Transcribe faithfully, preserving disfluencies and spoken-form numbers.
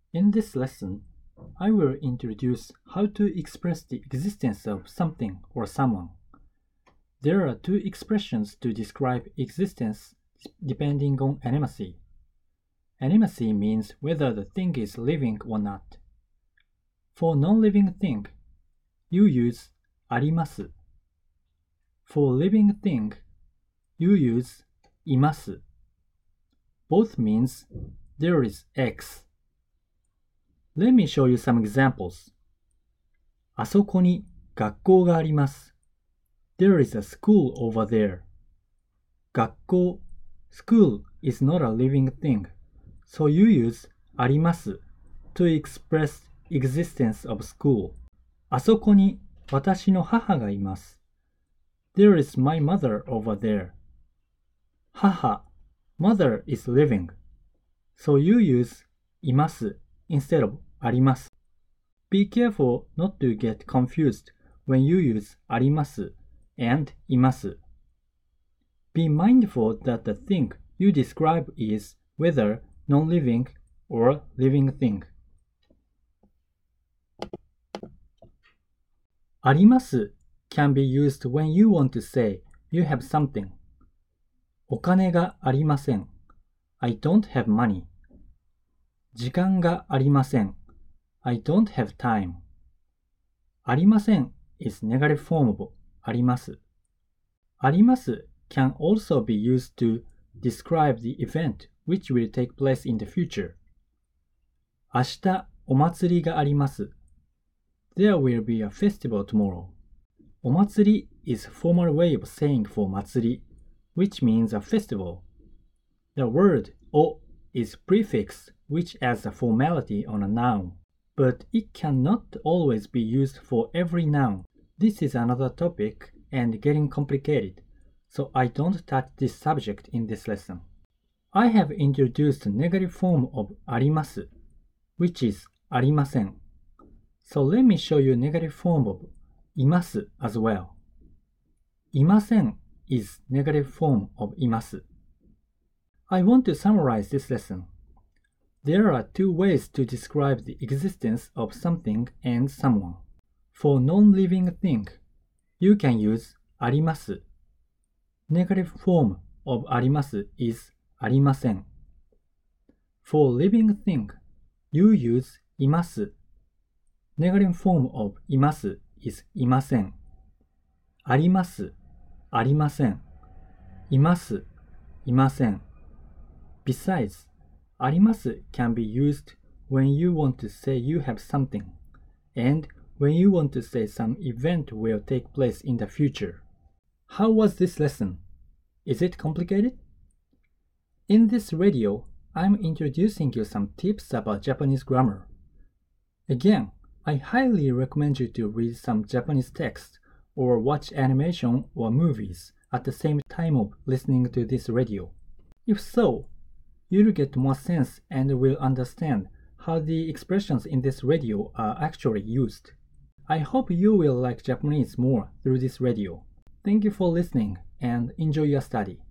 In this lesson, I will introduce how to express the existence of something or someone. There are two expressions to describe existence depending on animacy. Animacy means whether the thing is living or not. For non-living thing, you use あります. For living thing, you use います. Both means there is X. Let me show you some examples. あそこに学校があります. There is a school over there. 学校 School is not a living thing, so you use あります to express existence of school. あそこに私の母がいます. There is my mother over there. 母 Mother is living, so you use います instead of あります. Be careful not to get confused when you use あります and います. Be mindful that the thing you describe is whether non-living or living thing. あります can be used when you want to say you have something. お金がありません. I don't have money. 時間がありません. I don't have time. ありません is negative form of あります. あります can also be used to describe the event which will take place in the future. 明日お祭りがあります. There will be a festival tomorrow. お祭り is a formal way of saying for 祭り, which means a festival. The word お is prefix which adds a formality on a noun, but it cannot always be used for every noun. This is another topic and getting complicated, so I don't touch this subject in this lesson. I have introduced the negative form of あります, which is ありません. So let me show you negative form of います as well. いません is negative form of います. I want to summarize this lesson. There are two ways to describe the existence of something and someone. For non-living thing, you can use あります. Negative form of あります is ありません. For living thing, you use います. Negative form of います is いません. あります、ありません. います、いません. Besides, あります can be used when you want to say you have something, and when you want to say some event will take place in the future. How was this lesson? Is it complicated? In this radio, I'm introducing you some tips about Japanese grammar. Again, I highly recommend you to read some Japanese text or watch animation or movies at the same time of listening to this radio. If so, you'll get more sense and will understand how the expressions in this radio are actually used. I hope you will like Japanese more through this radio. Thank you for listening and enjoy your study.